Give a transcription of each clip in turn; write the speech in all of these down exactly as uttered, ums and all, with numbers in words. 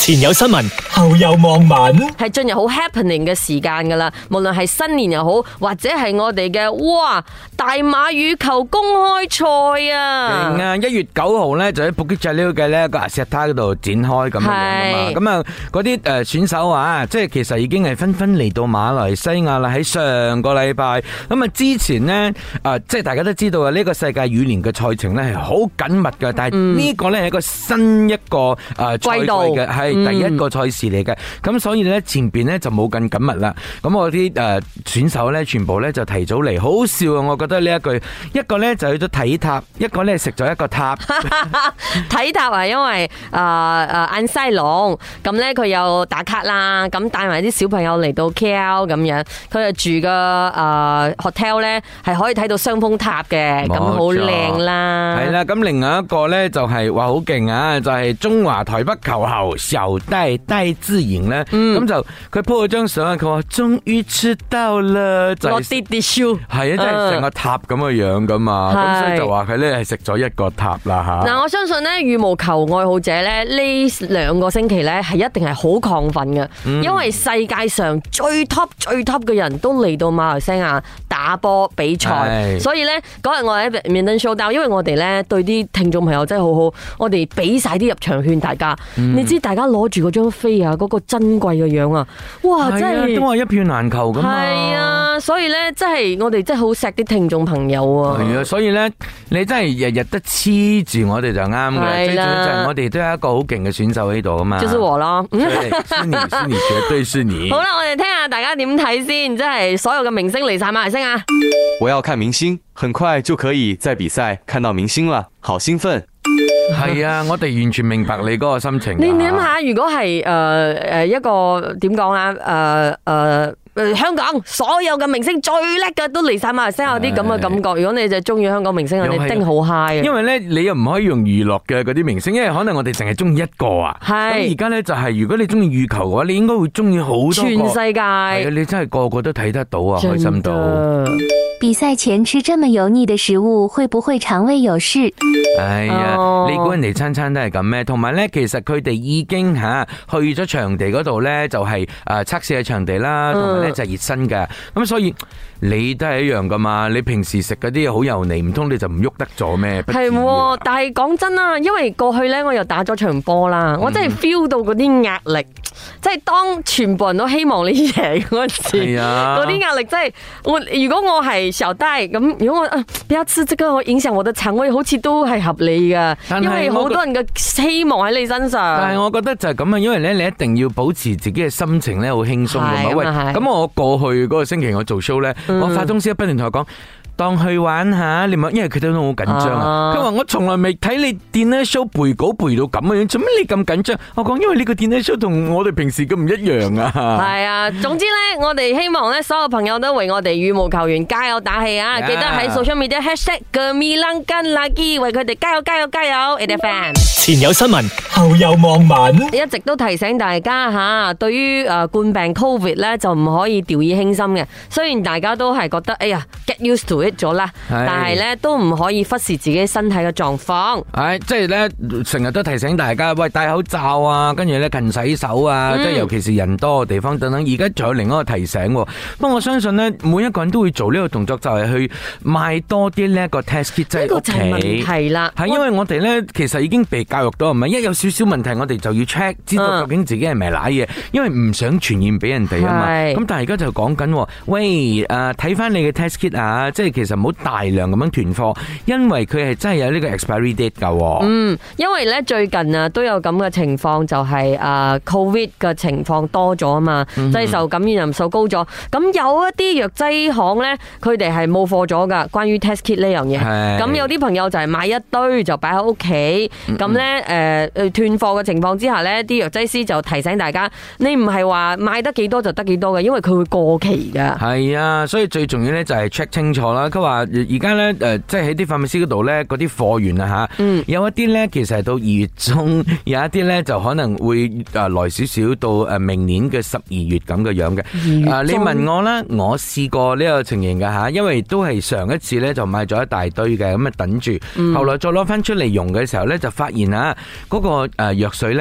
前有新聞，後有網民， 係進入好 happening 嘅時間噶啦。無論係新年又好，或者係我哋嘅哇大馬羽球公開賽啊！ 勁啊！一月九號咧就喺布吉扎溜嘅呢個阿石塔嗰度展開咁樣樣嘛。咁啊，嗰啲誒選手啊，即係其實已經係紛紛嚟到馬來西亞啦。喺上個禮拜咁啊，之前呢，誒，即係大家都知道啊，呢個世界羽聯嘅賽程咧係好緊密嘅，但係呢個咧係一個新一個誒賽季嘅，係第一個賽事嚟嘅。咁所以咧前邊咧就冇咁緊密啦。咁我啲誒選手咧全部咧就提早嚟，好笑啊！我覺得呢一句，一個咧就去咗睇塔，一個咧食咗一個塔。 睇塔啊，因為誒誒安西龍咁咧，佢又打卡啦，咁帶埋啲小朋友嚟到 K L 咁樣，佢就住個誒 hotel 咧係可以睇到雙峰塔嘅，咁好靚啦。 係啦，咁另外一個咧就係話好勁啊，就係中華台北球后小戴戴資穎咧，咁就佢 po 咗張相啊，佢話終於出道啦，就落啲啲 show， 係啊，真係成個塔咁嘅樣噶嘛，咁所以就話佢咧係食咗一個塔啦吓。 嗱，我相信咧羽毛球愛好者咧呢兩個星期咧係一定係好亢奮嘅，因為世界上最 top 最 top 嘅人都嚟到馬來西亞打波比賽，所以咧嗰日我喺 Badminton Showdown，因為我哋咧對啲聽眾朋友真係好好，我哋俾晒啲入場券大家，嗯、你知大家攞住嗰張飛啊，嗰、嗰個珍貴嘅樣啊，哇，真係都話一票難求噶嘛， 係啊，所以咧真係我哋真係好錫啲聽眾朋友啊， 係啊，所以咧你真係日日都黐住我哋就啱嘅，最重要就係我哋都有一個好勁嘅選手喺度啊嘛， 就是我咯， 是你是你絕對是你。 好啦，我哋聽下大家點睇先，即係所有嘅明星嚟晒馬來西亞。 我要看明星，很快就可以在比賽看到明星了，好興奮。 係啊，我哋完全明白你嗰個心情。 你諗下，如果係誒誒一個點講啊？誒誒誒，香港所有嘅明星最叻嘅都嚟晒馬來西亞，有啲咁嘅感覺。如果你就中意香港明星，你一定好 high 啊！ 因為咧，你又唔可以用娛樂嘅嗰啲明星，因為可能我哋淨係中意一個啊。係。咁而家咧就係，如果你中意羽球嘅話，你應該會中意好多個。 全世界。係啊， 你真係個個都睇得到啊，開心到。 比賽前吃這麼油膩的食物，會不會腸胃有事？ 哎呀，你估人哋餐餐都係咁咩？同埋咧，其實佢哋已經吓去咗場地嗰度咧，就係誒測試嘅場地啦，同埋咧就係熱身嘅。咁所以你都係一樣噶嘛？你平時食嗰啲好油膩，唔通你就唔喐得咗咩？ 係，但係講真啦，因為過去咧我又打咗場波啦，我真係 feel 到嗰啲壓力，即係當全部人都希望你贏嗰時，嗰啲壓力真係我如果我係小戴咁，如果我啊不要吃這個，我影響我的腸胃，好似都係合理噶，因為好多人嘅希望喺你身上。 但係我覺得就係咁啊，因為咧你一定要保持自己嘅心情咧好輕鬆噶嘛。喂，咁我過去嗰個星期我做 show 咧，我發通宵不斷同佢講。當去玩下，你咪因為佢哋都好緊張啊！佢話我從來未睇你dinner show 背稿背到咁樣，做咩你咁緊張？我講因為呢個 dinner show 同我哋平時咁唔一樣啊！ 係啊，總之咧，我哋希望咧，所有朋友都為我哋羽毛球員加油打氣啊！ Yeah. 記得喺 social media hashtag Gemilang Kan Lagi 為佢哋加油加油加油 ！A F M 前有新聞，後有網民， 一直都提醒大家吓，對於誒冠病 Covid 咧就唔可以掉以輕心嘅。雖然大家都係覺得哎呀 get used to it。咗啦，但係咧都唔可以忽視自己身體嘅狀況。 係即係咧，成日都提醒大家，喂，戴口罩啊，跟住咧勤洗手啊，即係、嗯、尤其是人多嘅地方等等。而家仲有另一個提醒，不過我相信咧，每一個人都會做呢個動作，就係去買多啲呢一個 test kit 喺屋企。係啦，係因為我哋咧其實已經被教育到，唔係一有少少問題，我哋就要 check，知道究竟自己係咪瀨嘢，因為唔想傳染俾人哋啊嘛。咁但係而家就講緊，喂，誒，睇翻你嘅 test kit 啊，即係其實唔好大量咁樣囤貨，因為佢係真係有呢個 expiry date 噶。 嗯，因為咧最近啊都有咁嘅情況，就係誒 Covid 嘅情況多咗啊嘛，即係受感染人數高咗。咁有一啲藥劑行咧，佢哋係冇貨咗噶，關於 test kit 呢樣嘢。咁有啲朋友就係買一堆就擺喺屋企，咁咧誒誒斷貨嘅情況之下咧，啲藥劑師就提醒大家，你唔係話買得幾多就得幾多嘅，因為佢會過期噶。 係啊，所以最重要咧就係 check 清楚啦。佢話而家咧誒，即係喺啲化驗師嗰度咧，嗰啲貨源啊吓，嗯、有一啲咧其實係到二月中，有一啲咧就可能會誒來少少到誒明年嘅十二月咁嘅樣嘅。啊，你問我啦，我試過呢個情形㗎吓，因為都係上一次咧就買咗一大堆嘅，咁啊等住，嗯、後來再攞翻出嚟用嘅時候咧，就發現啊嗰個誒藥水咧。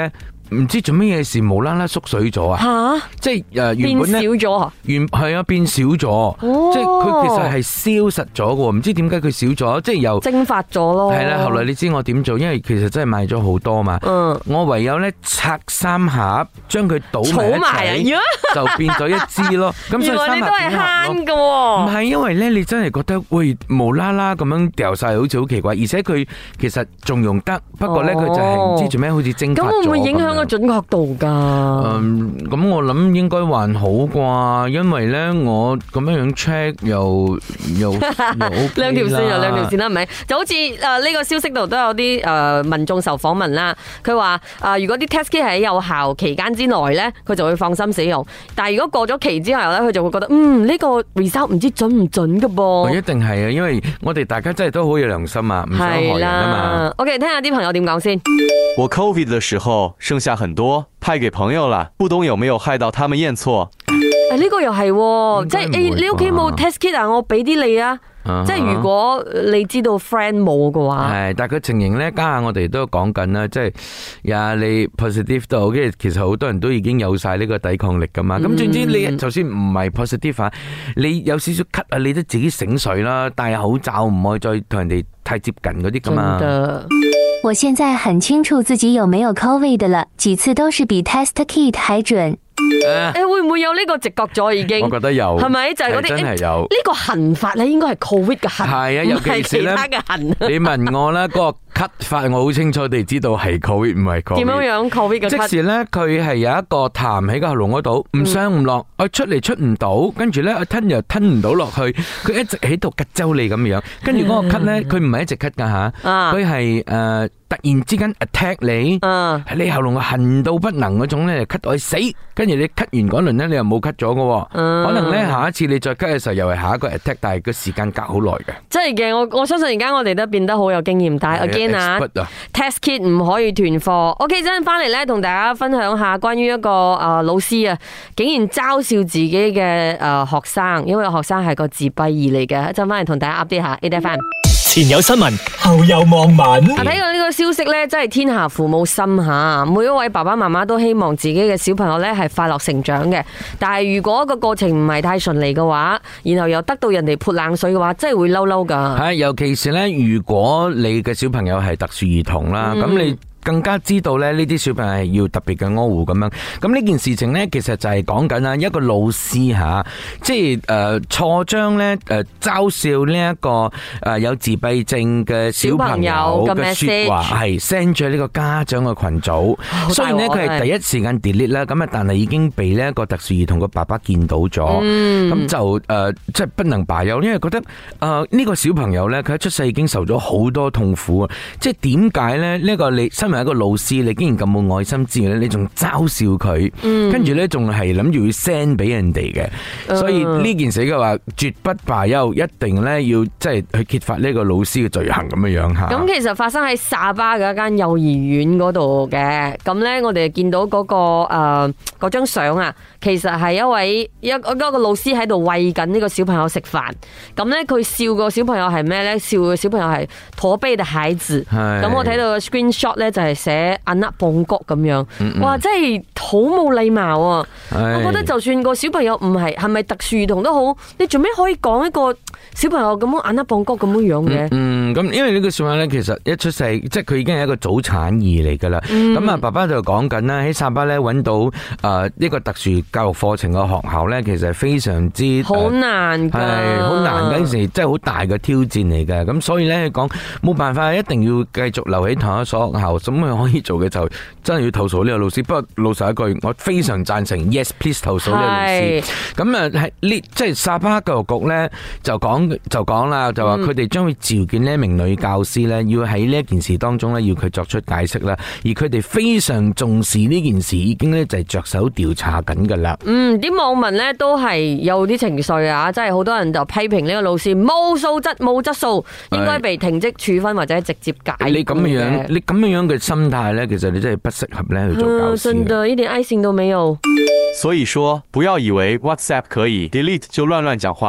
唔知做咩嘢事無啦啦縮水咗啊！ 吓， 即係誒原本咧變少咗啊！ 原係啊變少咗， 哦、 即係佢其實係消失咗嘅，唔知點解佢少咗，即係又蒸發咗咯。 係啦，後來你知我點做？因為其實真係買咗好多嘛，嗯、我唯有咧拆三盒，將佢倒埋一齊，就變咗一支咯。咁所以三盒點慳嘅？ 唔係因為咧，你真係覺得喂無啦啦咁樣掉晒，好似好奇怪，而且佢其實仲用得，不過咧佢就係唔知做咩，好似蒸發咗。咁會唔會影響個準確度噶？嗯，咁我諗應該還好啩，因為咧我咁樣樣 check 又又兩條線又兩條線啦，係咪？就好似誒呢個消息度都有啲誒民眾受訪問啦，佢話誒如果啲 test kit 係喺有效期間之內咧，佢就會放心使用。但係如果過咗期之後咧，佢就會覺得嗯呢個 result 唔知準唔準噶噃。 一定係啊，因為我哋大家真係都好有良心啊，唔想害人啊嘛。 OK， 聽下啲朋友點講先。 我 COVID 的時候剩下很多，派給朋友了，不懂有沒有害到他們驗錯？ 誒呢個又係，即係誒你屋企冇 test kit 啊，我俾啲你啊。即係如果你知道 friend 冇嘅話， 係，但係個情形咧，家下我哋都講緊啦，即係呀，你 positive 都好，跟住其實好多人都已經有晒呢個抵抗力噶嘛。咁總之你就算唔係 positive 啊，你有少少咳啊，你都自己醒水啦，戴口罩唔可以再同人哋太接近嗰啲噶嘛。 我現在很清楚自己有沒有 COVID 了，幾次都是比 test kit 還準。 誒，會唔會有呢個直覺咗已經？ 我覺得有， 係咪就係嗰啲真係有呢個痕法咧？應該係 COVID 嘅痕， 係啊，尤其是咧，你問我咧，嗰個咳法我好清楚地知道係 COVID 唔係 COVID。 點樣樣 COVID 嘅咳？ 即時咧，佢係有一個痰喺個喉嚨嗰度，唔上唔落，我出嚟出唔到，跟住咧我吞又吞唔到落去，佢一直喺度吉周你咁樣，跟住嗰個咳咧，佢唔係一直咳噶吓，佢係誒。突然之間 attack 你，喺你喉嚨痕到不能嗰種咧，咳到去死，跟住你咳完嗰輪咧，你又冇咳咗嘅，可能咧下一次你再咳嘅時候又係下一個 attack，但係個時間隔好耐嘅。真係嘅，我我相信而家我哋都變得好有經驗，但係 again 啊 ，test kit 唔可以斷貨。OK， 陣翻嚟咧，同大家分享下關於一個誒老師啊，竟然嘲笑自己嘅誒學生，因為學生係個自閉兒嚟嘅。一陣翻嚟同大家 update 下 A F M。 前有新聞，後有網民。 啊，睇到呢個消息咧，真係天下父母心吓，每一位爸爸媽媽都希望自己嘅小朋友咧係快樂成長嘅。但係如果個過程唔係太順利嘅話，然後又得到人哋潑冷水嘅話，真係會嬲嬲噶。 係，尤其是咧，如果你嘅小朋友係特殊兒童啦，咁、嗯、你更加知道咧呢啲小朋友係要特別嘅呵護咁樣。咁呢件事情咧，其實就係講緊啊一個老師吓，即係誒錯將咧誒嘲笑呢一個誒有自閉症嘅小朋友嘅說話係 send 咗呢個家長嘅群組。雖然咧佢係第一時間 delete 啦，咁啊但係已經被呢一個特殊兒童嘅爸爸見到咗，咁、嗯、就誒即係不能罷休，因為覺得誒呢個小朋友咧佢一出世已經受咗好多痛苦啊！即係點解咧呢個你身為一個老師，你竟然咁冇愛心之餘咧，你仲嘲笑佢，跟住咧仲係諗住要 send 俾人哋嘅，嗯、所以呢件事嘅話絕不罷休，一定咧要即係去揭發呢個老師嘅罪行咁樣樣吓。咁其實發生喺沙巴嘅一間幼兒園嗰度嘅，咁咧我哋見到嗰、嗰個誒嗰張相啊，其實係一位一一個老師喺度餵緊呢個小朋友食飯，咁咧佢笑個小朋友係咩咧？笑個小朋友係駝背嘅孩子，咁我睇到個 screenshot 咧就係寫阿納邦國咁樣，哇，真係好冇禮貌啊！我覺得就算個小朋友唔係係咪特殊兒童都好，你做咩可以講一個小朋友咁樣阿納邦國咁樣樣嘅？嗯， 咁因為呢個小朋友咧，其實一出世即係佢已經係一個早產兒嚟噶啦。咁啊，爸爸就講緊啦，喺沙巴咧揾到誒呢個特殊教育課程嘅學校咧，其實係非常之好難噶， 係好難嗰陣時，即係好大嘅挑戰嚟嘅。咁所以咧，講冇辦法，一定要繼續留喺同一所學校。咁佢可以做嘅就真係要投訴呢個老師。不過老實一句，我非常贊成 yes please 投訴呢個老師。咁啊係呢，即係沙巴教育局咧就講就講啦，就話佢哋將會召見呢一名女教師咧，要喺呢一件事當中咧要佢作出解釋啦。而佢哋非常重視呢件事，已經咧就係着手調查緊噶啦。 嗯，啲網民咧都係有啲情緒啊，即係好多人就批評呢個老師冇素質、冇質素，應該被停職處分或者直接解僱。 你咁樣，你咁樣樣嘅心態咧，其實你真係不適合咧去做教師。 真的，一點愛心都沒有。 所以說，不要以為 WhatsApp 可以 delete 就亂亂講話。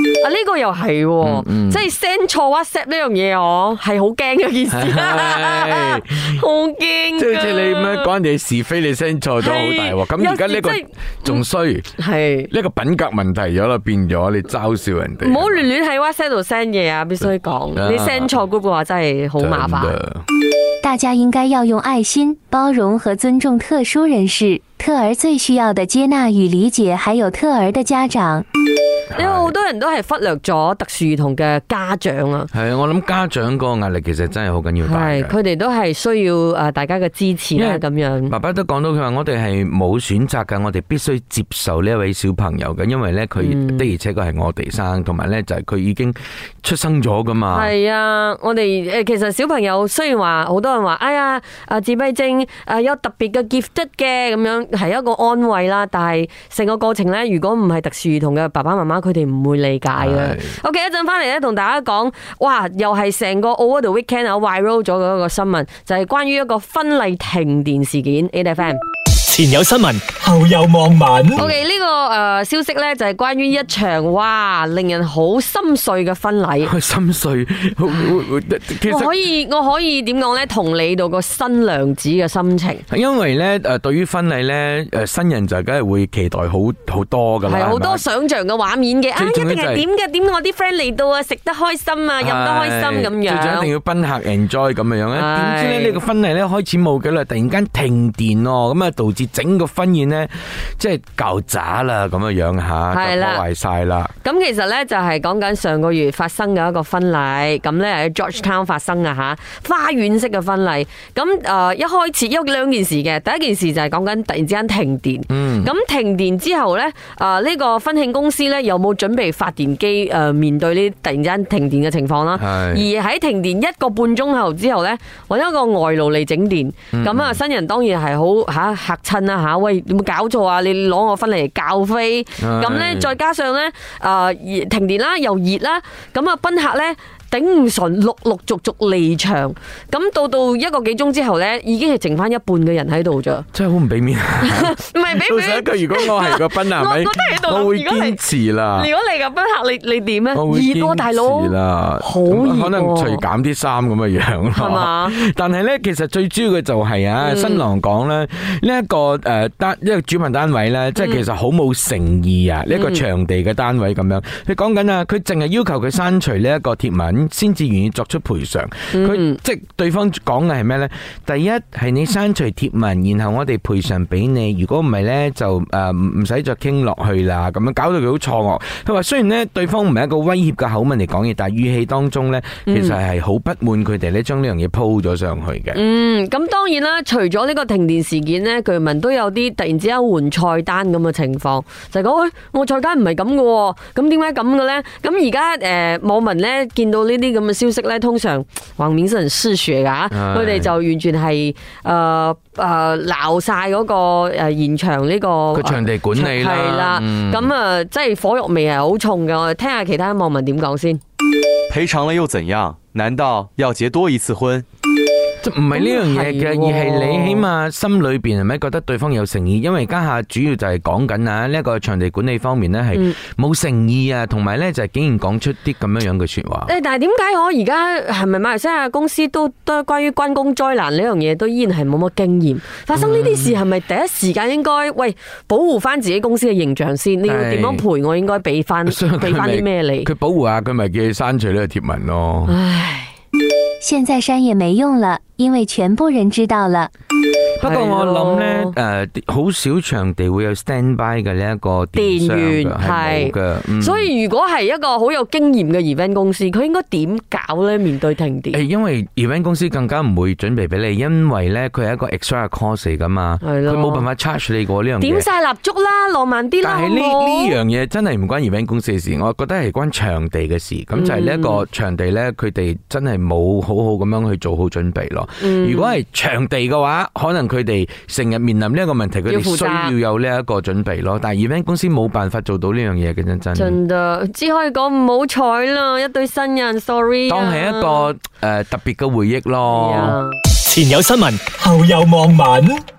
啊，呢個又係喎，即係 send 錯 WhatsApp 呢樣嘢，我係好驚嘅件事，好驚。 即係好似你咁樣講人哋是非，你 send 錯咗好大鑊。咁而家呢個仲衰，係呢個品格問題咗啦，變咗你嘲笑人哋。 唔好亂亂喺 WhatsApp 度 send 嘢啊！必須講，你 send 錯 group 嘅話真係好麻煩。 大家應該要用愛心、包容和尊重特殊人士，特兒最需要的接納與理解，還有特兒的家長。 因為好多人都係忽略咗特殊兒童嘅家長啊。 係啊，我諗家長個壓力其實真係好緊要大嘅。 係，佢哋都係需要誒大家嘅支持啦。咁樣， 爸爸都講到佢話我哋係冇選擇㗎，我哋必須接受呢一位小朋友嘅，因為咧佢的而且確係我哋生，同埋咧就係佢已經出生咗噶嘛。係啊，我哋誒其實小朋友雖然話好多人話，哎呀誒自閉症誒有特別嘅 gifted 嘅咁樣係一個安慰啦，但係成個過程咧，如果唔係特殊兒童嘅爸爸媽媽，佢哋唔會理解嘅。OK， 一陣翻嚟咧，同大家講，哇，又係成個 Over the Weekend 啊 viral 咗嘅一個新聞，就係關於一個婚禮停電事件。A F M 前有新聞，後有網民。 OK， 呢個誒消息咧就係關於一場哇令人好心碎嘅婚禮。 心碎，其實我可以我可以點講咧？同理到個新娘子嘅心情。 因為咧誒，對於婚禮咧誒，新人就梗係會期待好好多噶啦， 係好多想象嘅畫面嘅。啊，一定係點嘅？點我啲 friend 嚟到啊，食得開心啊，飲得開心咁樣。 最緊一定要賓客 enjoy 咁樣樣咧。點知咧呢個婚禮咧開始冇幾耐，突然間停電哦，咁啊導致整個婚宴咧，即係搞砸啦，咁嘅樣吓，就破壞晒啦。 咁其實咧就係講緊上個月發生嘅一個婚禮，咁咧喺 Georgetown 發生啊吓，花園式嘅婚禮。咁誒一開始有兩件事嘅，第一件事就係講緊突然之間停電。嗯。咁停電之後咧，誒呢個婚慶公司咧有冇準備發電機誒面對呢突然之間停電嘅情況啦？係。而喺停電一個半鐘頭之後咧，揾一個外勞嚟整電。咁啊新人當然係好吓嚇親啦吓。喂，有冇搞錯啊？你攞我婚禮嚟教飛，咁咧再加上咧，誒停電啦，又熱啦，咁啊賓客咧頂唔順，陸陸續續離場，咁到到一個幾鐘之後咧，已經係剩翻一半嘅人喺度咋。真係好唔俾面，唔係俾面。老實一句，如果我係個賓客，我會堅持啦。如果你個賓客，你你點咧？熱多大佬，好熱，可能除減啲衫咁嘅樣咯。係嘛？但係咧，其實最主要嘅就係啊，新郎講咧呢一個誒單一個主辦單位咧，即係其實好冇誠意啊！呢一個場地嘅單位咁樣，佢講緊啊，佢淨係要求佢刪除呢一個貼文。先至願意作出賠償。佢、嗯、即係對方講嘅係咩呢？第一係你刪除貼文，然後我哋賠償俾你。如果唔係呢，就誒唔使再傾落去啦。咁樣搞到佢好錯愕。佢話雖然呢對方唔係一個威脅嘅口吻嚟講嘢，但係語氣當中呢，其實係好不滿佢哋呢將呢樣嘢鋪咗上去嘅。嗯，咁當然啦，除咗呢個停電事件呢，據聞都有啲突然之間換菜單咁嘅情況，就係講喂，我菜單唔係咁嘅，咁點解咁嘅呢？咁而家誒網民呢見到呢啲咁嘅消息咧，通常黃面人嗜血噶，佢哋就完全係誒誒鬧晒嗰個誒現場呢個個場地管理啦，係啦，咁啊，即係火藥味係好重嘅。我哋聽下其他網民點講先。 賠償了又怎樣？難道要結多一次婚？ 唔係呢樣嘢嘅，而係你起碼心裏邊係咪覺得對方有誠意？因為家下主要就係講緊啊呢一個場地管理方面咧係冇誠意啊，同埋咧就係竟然講出啲咁樣樣嘅說話。誒，但係點解我而家係咪馬來西亞公司都都關於關公災難呢樣嘢都依然係冇乜經驗？發生呢啲事係咪第一時間應該喂保護翻自己公司嘅形象先？你要點樣賠我？應該俾翻俾翻啲咩你？佢保護下佢咪叫佢刪除呢個貼文咯。唉。 現在刪也沒用了，因為全部人知道了。 不過我諗咧，誒，好少場地會有 standby 嘅呢一個電源係冇嘅，所以如果係一個好有經驗嘅 event 公司，佢應該點搞咧？面對停電，誒，因為 event 公司更加唔會準備俾你，因為咧佢係一個 extra cost 嚟噶嘛，佢冇辦法 charge 你過呢樣嘢。點晒蠟燭啦，浪漫啲啦。但係呢呢樣嘢真係唔關 event 公司嘅事，我覺得係關場地嘅事。咁就係呢一個場地咧，佢哋真係冇好好咁樣去做好準備咯。如果係場地嘅話，可能佢哋成日面臨呢一個問題，佢哋需要有呢一個準備咯。但係 event 公司冇辦法做到呢樣嘢嘅，真真。真的，只可以講唔好彩啦，一對新人 ，sorry。當係一個誒特別嘅回憶咯。前有新聞，後有網民。